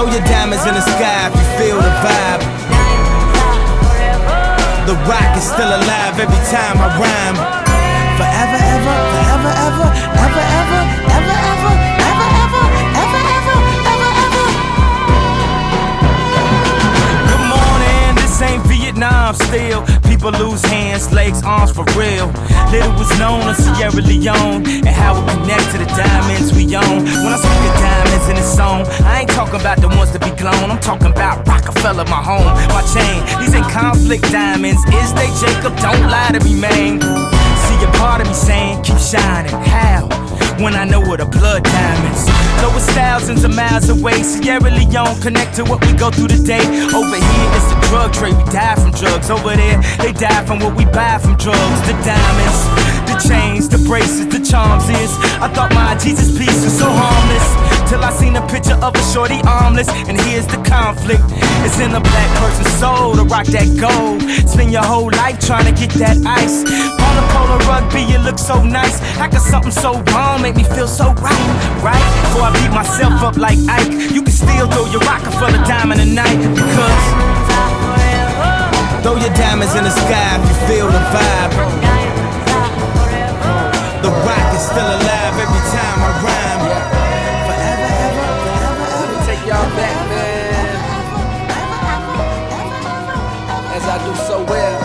Throw your diamonds in the sky if you feel the vibe. The rock is still alive every time I rhyme. Forever, ever, forever, ever, ever, ever, ever, ever, ever, ever, ever, ever, ever, ever. Good morning, this ain't Vietnam still. People lose hands, legs, arms for real. Little was known of Sierra Leone and how it connect to the diamonds we own. When I speak of diamonds in this song, I ain't talking about the ones that be glown. I'm talking about Rockefeller, my home, my chain. These ain't conflict diamonds, is they, Jacob? Don't lie to me, man. See a part of me saying, keep shining. How? When I know what a blood diamonds. Though it's thousands of miles away, Sierra Leone connect to what we go through today. Over here it's the drug trade, we die from drugs. Over there they die from what we buy from drugs. The diamonds, the chains, the bracelets, the charms is I thought my Jesus piece was so harmless, till I seen a picture of a shorty armless. And here's the conflict, it's in a black person's soul to rock that gold. Spend your whole life trying to get that ice. On a polo rugby you look so nice. How could something so wrong make me feel so right, right? Before I beat myself up like Ike, you can still throw your Rockefeller diamond tonight. Because throw your diamonds in the sky if you feel the vibe. The rock is still alive every time I rhyme. Forever, ever, forever, ever. Take y'all back, man, as I do so well.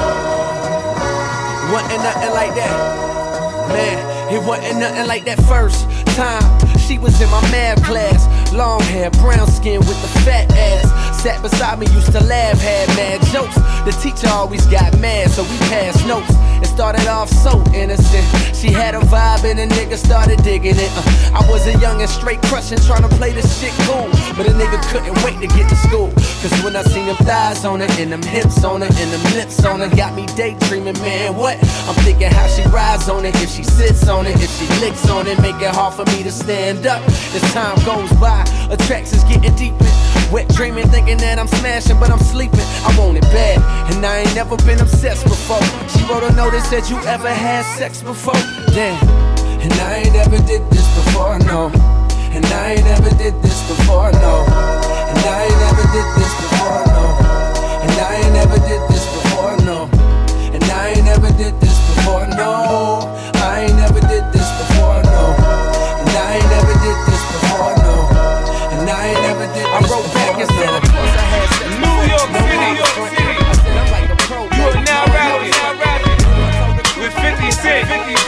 Wasn't nothing like that, man. It wasn't nothing like that first time she was in my math class. Long hair, brown skin with the fat ass. Sat beside me, used to laugh, had mad jokes. The teacher always got mad, so we passed notes. It started off so innocent. She had a vibe and a nigga started digging it. I was a young and straight crushing, trying to play this shit cool. But a nigga couldn't wait to get to school. Cause when I seen them thighs on her, and them hips on her, and them lips on her, got me daydreaming, man, what? I'm thinking how she rides on it, if she sits on it, if she licks on it, make it hard for me to stand up. As time goes by, attractions getting deeper. Wet dreaming, thinking that I'm smashing, but I'm sleeping. I want it bad, and I ain't never been obsessed before. She wrote a note that said, you ever had sex before? Damn, and I ain't ever did this before, no. And I ain't ever did this before, no. And I ain't ever did this before, no. And I ain't ever did this before, no. And I ain't ever did this before, no. I ain't never did this before, no. And I ain't never did this before, no. And I ain't never did this before. I wrote back and said, of course I had sex before. New York City. I said, I'm like a pro. You are now rapping with 50 Cent.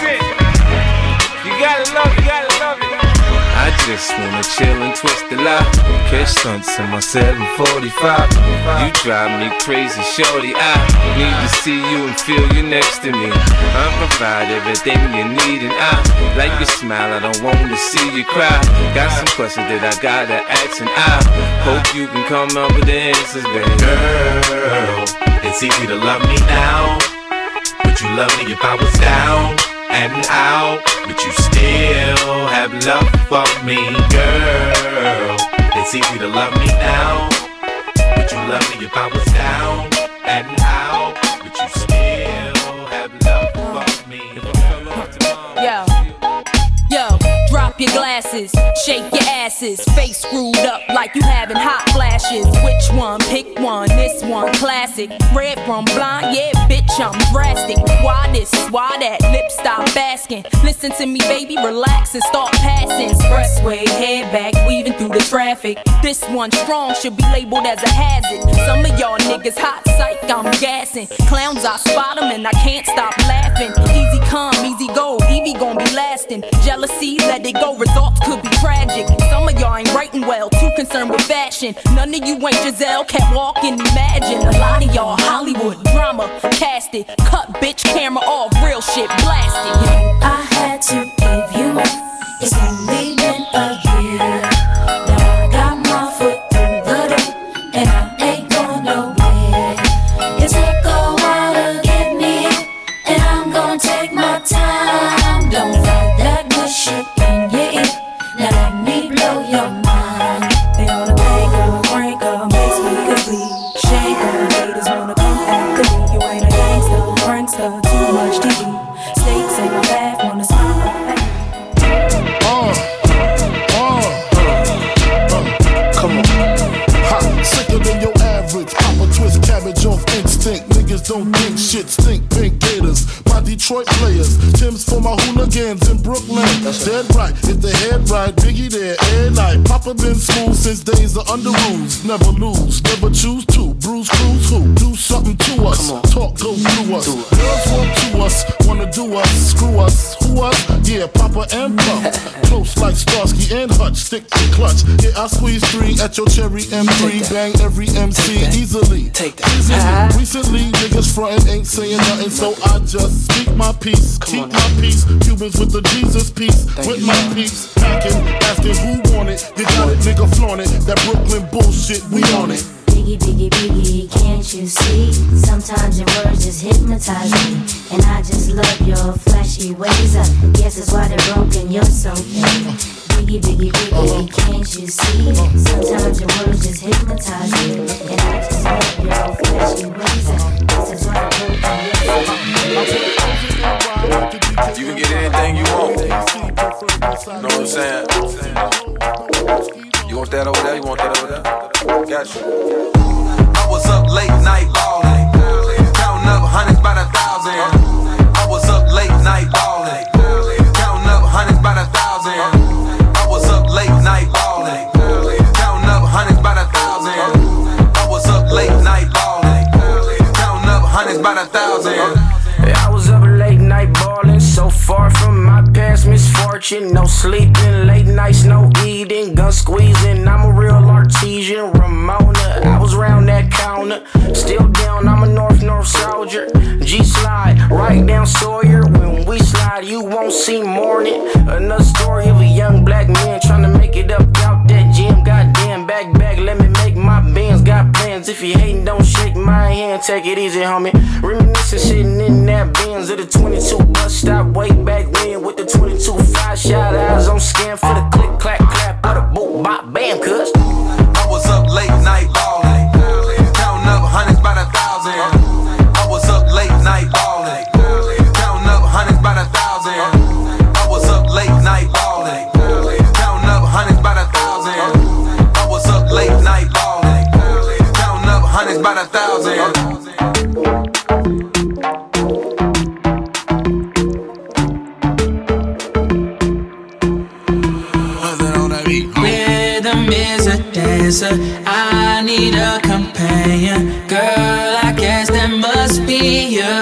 You gotta love it, you gotta love it. I just wanna chill and twist the lot. Catch stunts in my 745. You drive me crazy, shorty. I need to see you and feel you next to me. I provide everything you need, and I like your smile. I don't wanna see you cry. Got some questions that I gotta ask, and I hope you can come up with the answers, baby. Girl, it's easy to love me now. Would you love me if I was down and out? But you still have love for me, girl. It's easy to love me now. Would you love me if I was down and out? But you still have love for me. Yo, drop your glasses, shake your asses, face screwed up like you having hot flashes. Which one? Pick one, this one classic. Red from blind, yeah, bitch, I'm drastic. Why this, why that, lip stop basking. Listen to me, baby, relax and start passing. Expressway, head back, weaving through the traffic. This one strong, should be labeled as a hazard. Some of y'all niggas hot psych, I'm gassing. Clowns, I spot them and I can't stop laughing. Easy come, easy go, Evie gon' be lasting. Jealousy, let it go, results could be tragic. Some of y'all ain't writing well, too concerned with fashion. None of you ain't Giselle, can't walk and imagine. A lot of y'all Hollywood drama, cast it. Cut bitch camera off, real shit blasted. I had to give you up, it's only been a year. Now I got my foot through the door, and I ain't going nowhere. It took a while to get me, and I'm gonna take my time. Don't fight that good shit in your ear, now let me blow your mind. They wanna make her, break her, makes me complete. Shake her, haters wanna come after me. You ain't a gangster, prankster, too much TV. Snakes in my bath, wanna smile back. Come on. thicker than your average. Pop a twist cabbage off instinct. Niggas don't think shit stink. Pink Gators, my Detroit players. Tim's for my hooligans in Brooklyn. Dead right, if the head right, Biggie there, every night. Papa been school since days of under rules. Never lose, never choose to. Bruise, cruise, who? Do something to us. Talk, go through us. Girls want to us, wanna do us. Screw us, who us? Yeah, Papa and Pump. Close like Starsky and Hutch, stick to clutch. Yeah, I squeeze 3 at your cherry M3. Bang every MC easily. Take that. Recently, niggas frontin' ain't saying nothing, so I just speak my peace, keep my peace. Cubans with the Jesus peace, with my peace. Packing, asking who want it. You got it, nigga, flaunt it. That Brooklyn bullshit, we on it. Biggie, biggie, biggie, can't you see? Sometimes your words just hypnotize me, and I just love your flashy ways. I guess that's why they're broken, you're so mean. Biggie, biggie, biggie, can't you see? Sometimes your words just hypnotize me, and I just love your flashy ways. I guess that's why they're broken, you're so mean. You can get anything you want. Know what I'm saying? You want that over there? You want that over there? Got you. I was up late night ballin', counting up hundreds by the thousand. I was up late night ballin', counting up hundreds by the thousand. I was up late night ballin', counting up hundreds by the thousand. I was up late night ballin', counting up hundreds by the thousand. I was up late night ballin', so far from my past misfortune. No sleeping, late nights, no eating, gun squeezing. I'm a real artesian, Ramona. I was round that counter, still down. I'm a North soldier. G-slide, right down Sawyer. When we slide, you won't see morning. Another story of a young black man trying to make it up out that gym. Goddamn, back, let me make my bands. Got plans. If you hating, don't shake my hand. Take it easy, homie. Reminiscing, sitting in that Benz of the 22 bus stop way back when with the 22-5 shot eyes on scan for the click, clack, clap of the boot, bop, bam, cuz. I was up late night ballin', counting up hundreds by the thousand. I was up late night ballin', counting up hundreds by the thousand. I was up late night ballin', counting up hundreds by the thousand. I was up late night ballin', counting up hundreds by the thousand. I need a companion. Girl, I guess that must be you.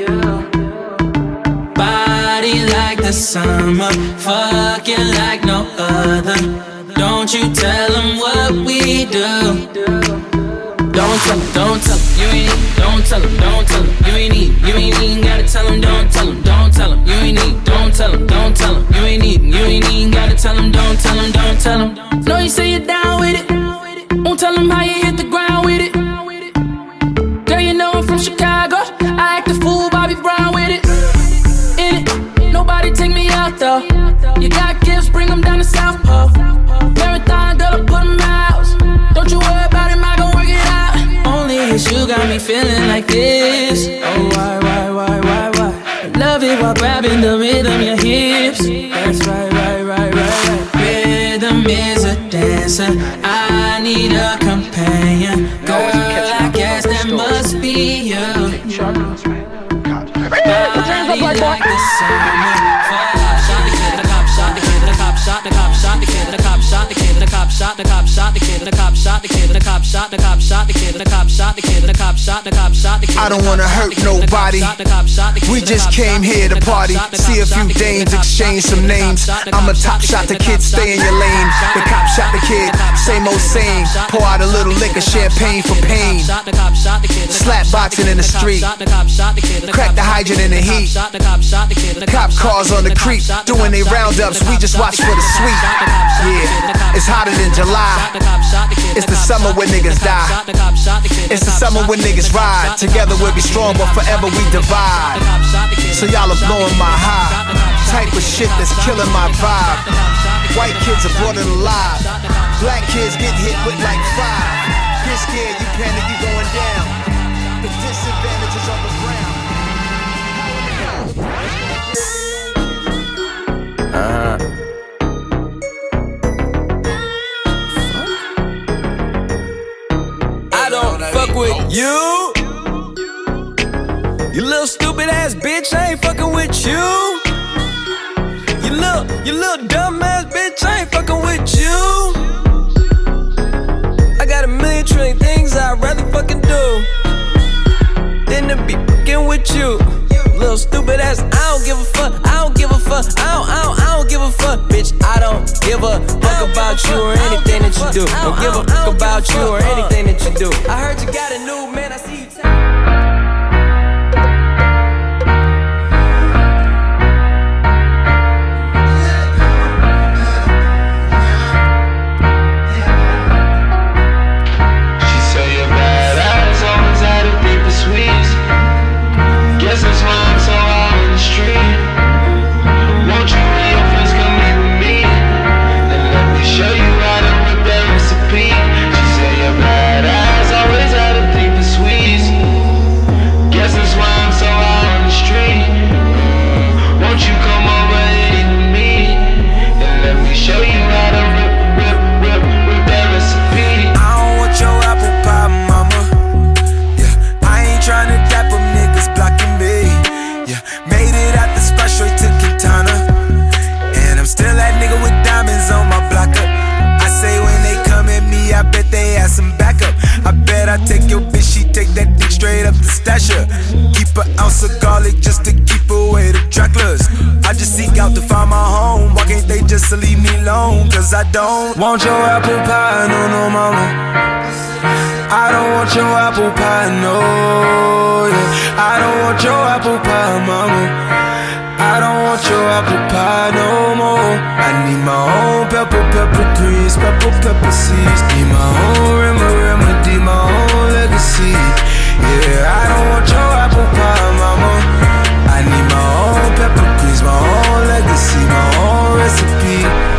Body like the summer, fucking like no other. Don't you tell them what we do. Don't tell them, you ain't, don't tell them, you ain't even gotta tell them, don't tell them, you ain't need, don't tell them, you ain't even gotta tell them, don't tell them. No, you say you're down with it. Won't tell them how you hit the ground with it. Girl, you know I'm from Chicago. I act a fool, Bobby Brown with it. In it, nobody take me out though. You got gifts, bring them down to South Pole. Marathon, girl, I put them out. Don't you worry about it, I gon' work it out. Only it's you got me feeling like this. Oh, why? Love it while grabbing the rhythm, your hips. That's right. Rhythm is a dancer. I need a companion. Girl, I guess that must be you. Body like the summer. Shot the kid, the cop shot the kid, the cop shot the cop shot the kid, the cop shot the kid, the cop shot the cop shot the kid, the cop shot the kid, the cop shot the cop shot the kid, the cop shot the kid, the cop shot the cop shot the kid. I don't wanna hurt nobody. We just came here to party, see a few dames, exchange some names. I'm a top shot the kid, stay in your lane. The cop shot the kid, same old same. Pour out a little liquor, champagne for pain. Slap boxing in the street, crack the hydrant in the heat. Cop cars on the creek, doing they roundups, we just watch for the sweet. Yeah, it's hotter than July. It's the summer when niggas die. It's the summer when niggas ride. Together we'll be strong, but forever we divide. So y'all are blowing my high. Type of shit that's killing my vibe. White kids are brought it alive. Black kids get hit with like 5. Get scared, you panic, you going down. The disadvantages of the ground. stupid ass bitch, I ain't fucking with you. You little dumb ass bitch, I ain't fucking with you. I got a million trillion things I'd rather fucking do than to be fucking with you. Little stupid ass, I don't give a fuck, I don't give a fuck, I don't give a fuck, bitch. I don't give a fuck about you or anything that you do. Don't give a fuck about you or anything that you do. I heard you got a new man, I see you I take your bitch, she take that dick straight up the stasher. Keep an ounce of garlic just to keep away the Draculas. I just seek out to find my home. Why can't they just leave me alone? Cause I don't want your apple pie, no mama. I don't want your apple pie, no, yeah. I don't want your apple pie, mama. I don't want your apple pie no more. I need my own pepper grease, pepper seeds. Need my own remedy, my own legacy. Yeah, I don't want your apple pie, mama. I need my own pepper grease, my own legacy, my own recipe.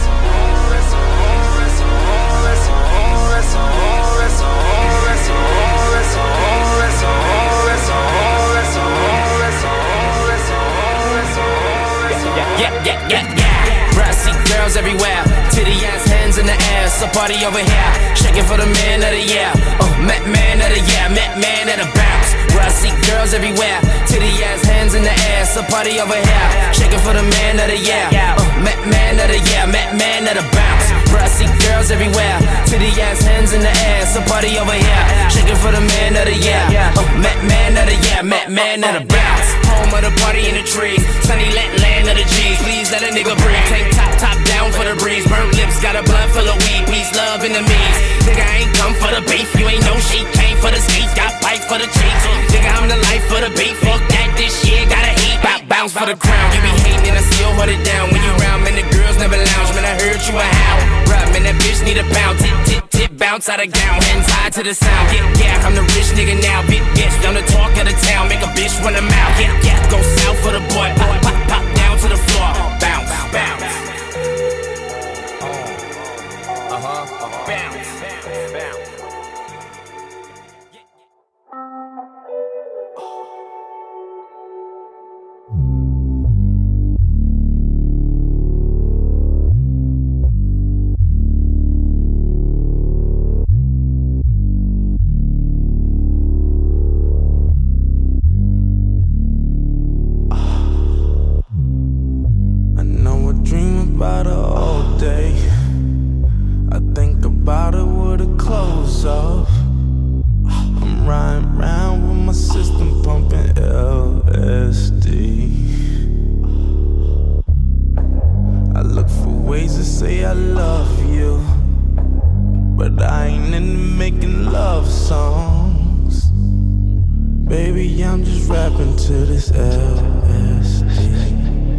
Yeah. Brassy girls everywhere, titty ass hands in the air. So party over here, shaking for the man of the year. Man of the year, man of the bounce. Brassy girls everywhere, titty ass hands in the air. So party over here, shaking for the man of the year. Man of the year, man of the bounce. Brassy girls everywhere, titty ass hands in the air. So party over here, shaking for the man of the year. Man of the year, man of the bounce. Home of the party in the trees, sunny land of the G's. Please let a nigga breathe. Tank top down for the breeze. Burnt lips, got a blood full of weed. Peace, love, enemies. Nigga, I ain't come for the beef. You ain't no sheep, came for the skeet. Got pipe for the cheeks. Nigga, I'm the life for the beef. Fuck that, this shit gotta eat. Bounce for the crown. You be hating and I still hold it down. When you round, man, the girls never lounge. Man, I heard you a howl. Right, man, that bitch need a pound. Tip, bounce out of gown. Hands high to the sound. Yeah, I'm the rich nigga now. Big bitch, down the talk of the town. Make a bitch run a mouth. Yeah, go south for the boy. Pop down to the floor. Bounce. Bounce. About her all day. I think about it with her clothes off. I'm riding around with my system pumping LSD. I look for ways to say I love you, but I ain't into making love songs. Baby, I'm just rapping to this LSD.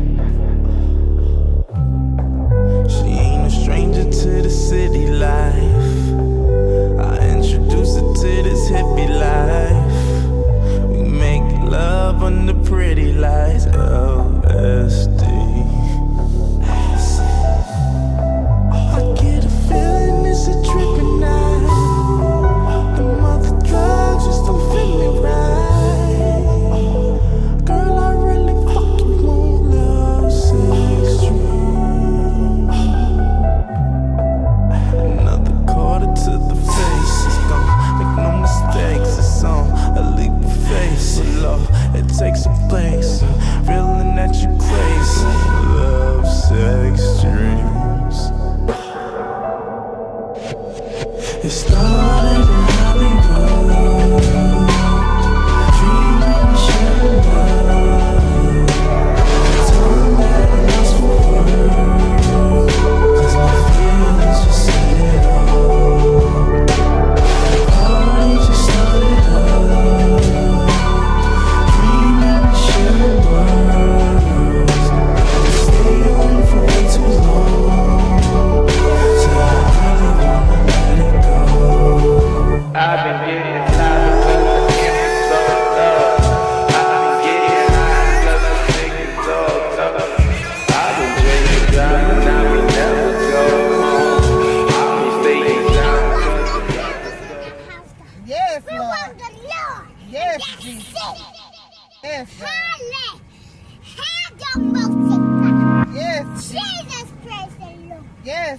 Stranger to the city life, I introduce her to this hippie life. We make love under pretty lights, LSD. I get a feeling it's a trippin' night. The mother drugs just don't fit me right. Girl, I really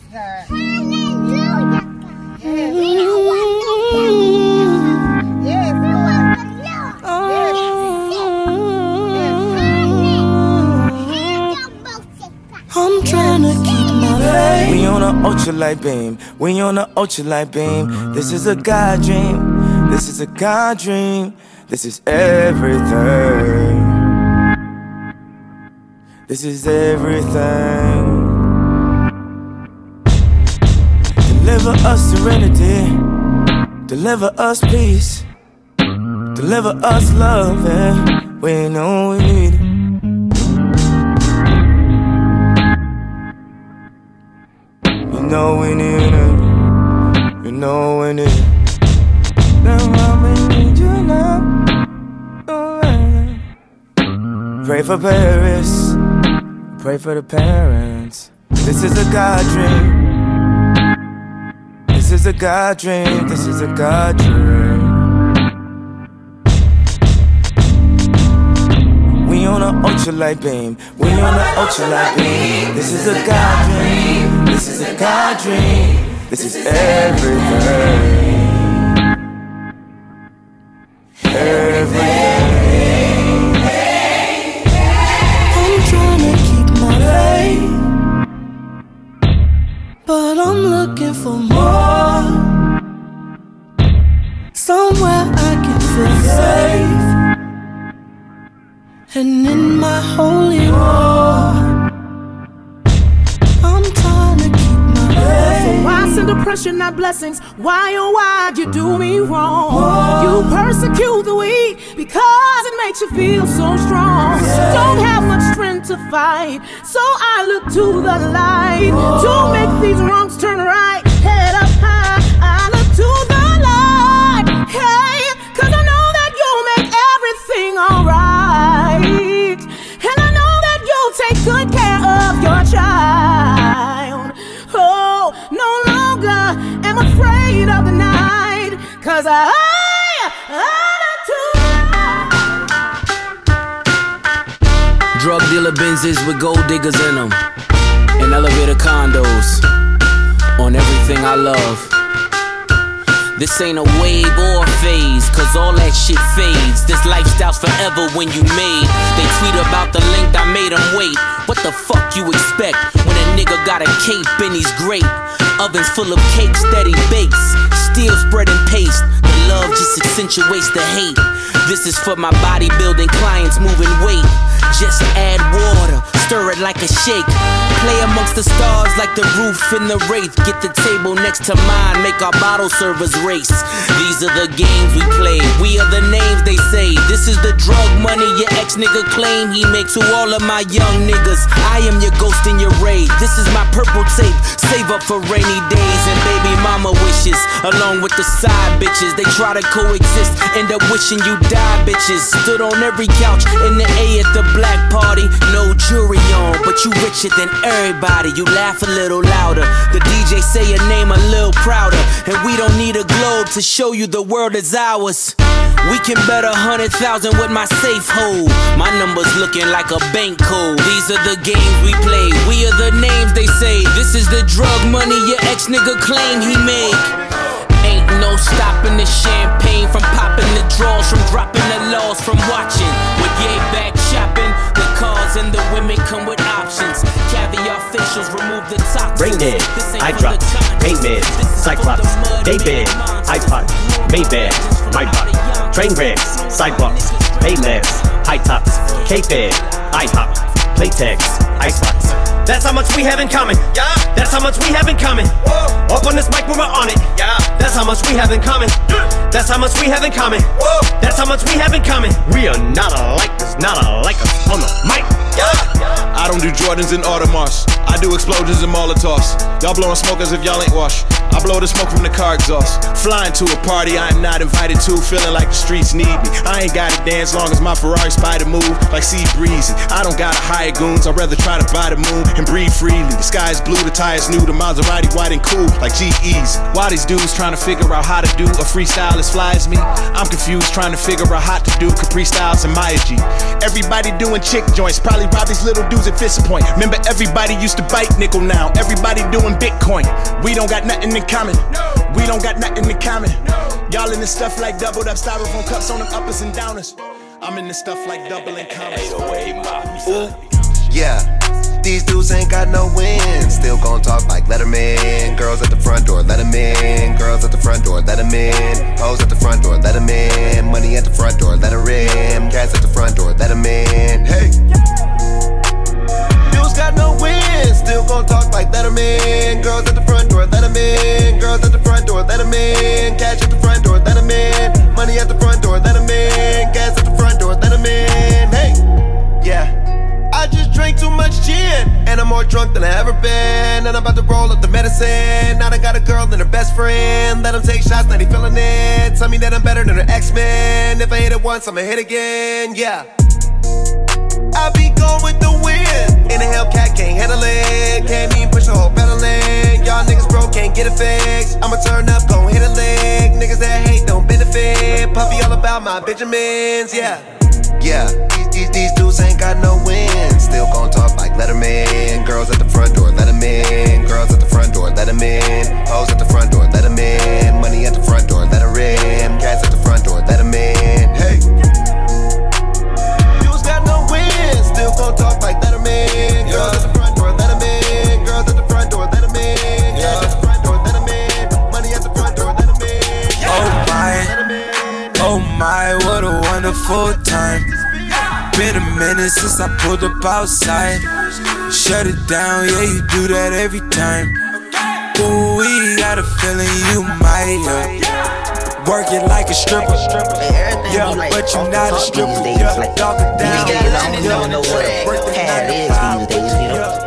I'm trying to keep my faith. We on a ultralight beam. We on a ultralight beam. This is a God dream. This is a God dream. This is everything. This is everything. Deliver us serenity. Deliver us peace. Deliver us love. Yeah. We know we need it. You know we need it. You know we need it. That's why we need you now. Pray for Paris. Pray for the parents. This is a God dream. This is a God dream. This is a God dream. We on an ultralight beam. We on an ultralight beam. This is a God dream. This is a God dream. This is everything. Everything. I'm trying to keep my faith, but I'm looking for more. Somewhere I can feel safe, and in my holy war, I'm trying to keep my faith. So why send oppression, not blessings? Why, oh why you do me wrong? You persecute the weak because it makes you feel so strong. Don't have much strength to fight, so I look to the light to make these wrongs turn right. Head up high, I look to the light. Hey, cause I know that you'll make everything alright, and I know that you'll take good care of your child. Oh, no longer am afraid of the night, cause I look to Drug dealer Benzes with gold diggers in them, and elevator condos on everything I love. This ain't a wave or a phase, cause all that shit fades. This lifestyle's forever when you made. They tweet about the length I made them wait. What the fuck you expect when a nigga got a cape and he's great? Ovens full of cakes that he bakes, still spreading paste. The love just accentuates the hate. This is for my bodybuilding clients moving weight. Just add water, stir it like a shake. Play amongst the stars like the roof in the Wraith. Get the table next to mine, make our bottle servers race. These are the games we play, we are the names they say. This is the drug money your ex-nigga claim he makes to all of my young niggas. I am your ghost in your raid. This is my purple tape, save up for rainy days and baby mama wishes. Along with the side bitches, they try to coexist, end up wishing you die bitches. Stood on every couch in the A at the black party. No jury on, but you richer than everybody. You laugh a little louder, the DJ say your name a little prouder, and we don't need a globe to show you the world is ours. We can bet 100,000 with my safe hold. My number's looking like a bank code. These are the games we play, we are the names they say. This is the drug money your ex-nigga claim he make. Ain't no stopping the champagne from popping the draws, from dropping the laws, from watching with yay back shopping. The cars and the women come with options. Caviar facials remove the toxins. Braindead, eye drops, paint meds, Cyclops, Daybed, iPod, Maybach, my body, train wrecks, sidewalks, Paylabs, high tops, K-Fed, IHOP, Playtex, Icebox. That's how much we have in common. Yeah. That's how much we have in common. Whoa. Up on this mic when we're on it. Yeah. That's how much we have in common. That's how much we have in common. Whoa. That's how much we have in common. We are not alike. There's not alike us on the mic. Yeah. I don't do Jordans and Audemars. I do explosions and Molotovs. Y'all blowing smoke as if y'all ain't washed. I blow the smoke from the car exhaust. Flying to a party I am not invited to, feeling like the streets need me. I ain't gotta dance long as my Ferrari spider move like sea breezy. I don't gotta hire goons, I'd rather try to buy the moon and breathe freely. The sky is blue, the tires new, the Maserati white and cool like GE's. Why these dudes trying to figure out how to do a freestyle as fly as me? I'm confused trying to figure out how to do Capri Styles and Maya G. Everybody doing chick joints, probably rob these little dudes at disappoint. Remember, everybody used to bite nickel now. Everybody doing Bitcoin. We don't got nothing in common. We don't got nothing in common. Y'all in this stuff like doubled up styrofoam cups on them uppers and downers. I'm in this stuff like double and commas. Ooh, yeah. These dudes ain't got no wins. Still gon' talk like Letterman. Girls at the front door, let 'em in. Girls at the front door, let 'em in. Hoes at the front door, let 'em in. Money at the front door, let her in. Cats at the front door, let 'em in. Hey. Dudes got no wins. Still gon' talk like Letterman. Girls at the front door, let 'em in. Girls at the front door, let 'em in. Cash at the front door, let 'em in. Money at the front door, let 'em in. Gas at the front door, let 'em in. Hey. Yeah. I just drank too much gin, and I'm more drunk than I ever been. And I'm about to roll up the medicine. Now I got a girl and her best friend. Let them take shots, now they feeling it. Tell me that I'm better than her X-Men. If I hit it once, I'ma hit again, yeah. I be going with the wind. In a Hellcat, can't handle it. Can't even push the whole pedal in. Y'all niggas broke, can't get it fixed. I'ma turn up, gon' hit a lick. Niggas that hate don't benefit. Puffy all about my Benjamins, yeah. Yeah, these dudes ain't got no wins. Still gon' talk like Letterman. Girls at the front door, let 'em in. Girls at the front door, let 'em in. Hoes at the front door, let 'em in. Money at the front door, let her in. Cats at the front door, let 'em in. Hey. Dudes got no wins. Still gon' talk like Letterman. Girls at the front door, let 'em in. Girls at the front door, let 'em in. Cats at the front door, let 'em in. Money at the front door, let 'em in. Oh my, what a wonderful time. Been a minute since I pulled up outside. Shut it down, yeah, you do that every time. Ooh, we got a feeling you might, work it like a stripper. Yeah, but you not a stripper. Yeah, dog it down. I don't know what a pad is these days, you know.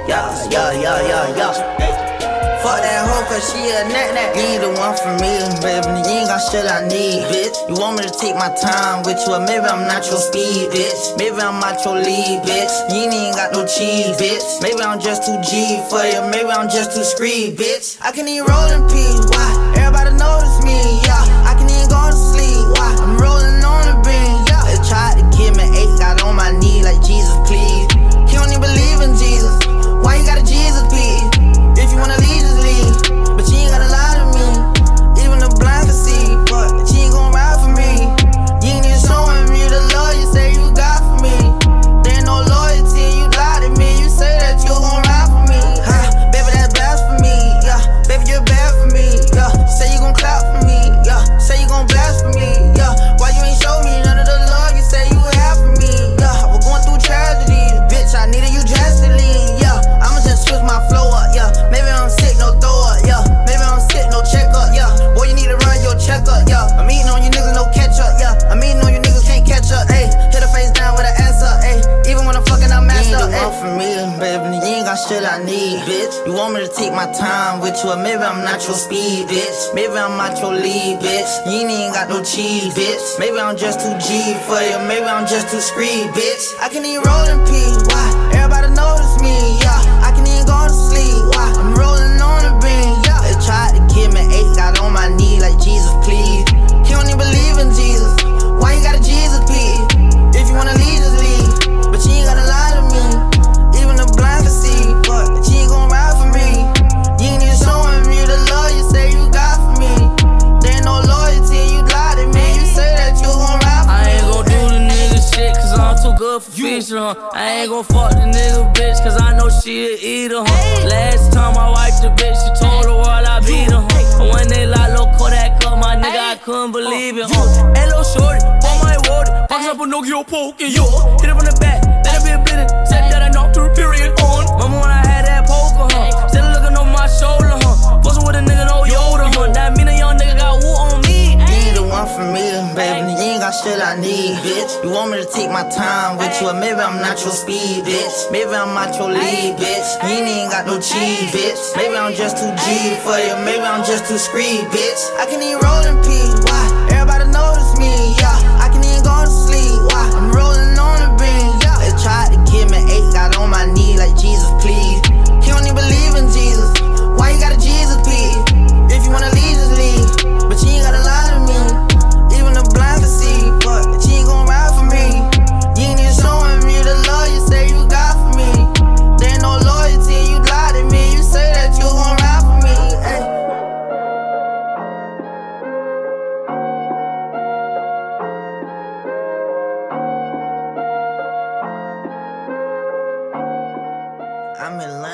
Yeah. Fuck that hoe, cause she a nut. You ain't the one for me, baby. You ain't got shit I need, bitch. You want me to take my time with you, or maybe I'm not your speed, bitch. Maybe I'm not your lead, bitch. You ain't got no cheese, bitch. Maybe I'm just too G for you, maybe I'm just too screed, bitch. I can even roll in peace, why? Everybody notice me, yeah. I can even go to sleep, why? I'm rolling on the beam, yeah. They tried to give me 8, got on my knee like Jesus, please. He don't even believe in Jesus. Why you got a Jesus, please? If you wanna leave, just leave. But you ain't gotta lie to me. Even the blind can see. But you ain't gon' ride for me. You ain't even showing me the love you say you got for me. There ain't no loyalty, you lie to me. You say that you gon' ride for me. Baby, that's blasphemy. Yeah, baby, you're bad for me. Yeah, say you gon' clap for me. Yeah, say you gon' blast for me. Yeah, why you ain't show me none of the love you say you have for me? Yeah, we're going through tragedy. Bitch, I needed you drastically. Yeah, I'ma just switch my flow up. Yeah, maybe I'm sick, no throw up. Yeah, maybe I'm sick, no check up. Yeah, boy, you need to run your check up. Yeah, I'm eating on you niggas, no catch up. Yeah, I'm eating on you niggas, can't catch up. Ayy, hit her face down with an ass up. Ayy, even when I'm fucking, I'm messed up. You ain't the one for me, baby. You ain't got shit I need, bitch. You want me to take my time with you, or maybe I'm not your speed, bitch. Maybe I'm not your lead, bitch. You ain't got no cheese, bitch. Maybe I'm just too G for you, maybe I'm just too screed, bitch. I can even roll in peace, why? Everybody notice me, yeah. I can even go to sleep, why? I'm rolling on the beam, yeah. They tried to give me 8, got on my knee like Jesus, please. He don't even believe in Jesus. Why you got a Jesus, please? If you wanna leave, just leave. But you ain't gotta lie to me. Even the blind can see, but you ain't gon' ride for me. You ain't even showing me the love you say you got for me. There ain't no loyalty, you lie to me. You say that you gon' ride for me. I ain't gon' do the nigga shit, cause I'm too good for fish, I ain't gon' fuck the nigga bitch, cause I know she a eater, Last time I wiped the bitch, she told the world I beat her, And when they like loco that cut, my nigga, I couldn't believe it, Hello shorty, for my word, pockets up a Nokia poke, yo. Hit it from the back, let it be a bleeding, said that I knocked her period on. Mama when I had that poker, still looking over my shoulder, Fussing with a nigga, no Yoda, That mean a young nigga got woo on me. You ain't the one for me, baby. You ain't got shit I need, bitch. You want me to take my time with you, or maybe I'm not your speed, bitch. Maybe I'm not your lead, bitch. You ain't got no cheese, bitch. Maybe I'm just too G for you, maybe I'm just too screed, bitch. I can even roll in peace, why? Everybody notice me, yeah. I can even go to sleep, why? I'm rolling on the beam, yeah. They tried to give me 8, got on my knee like Jesus, please. He don't even believe in Jesus. Why you got a Jesus, please? If you wanna leave, just leave. But you ain't gotta lie to me. Even the blind can see, but you ain't gon' ride for me. You ain't even showing me the love you say you got for me.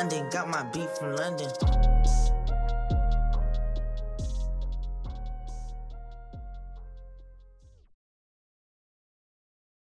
London, got my beat from London.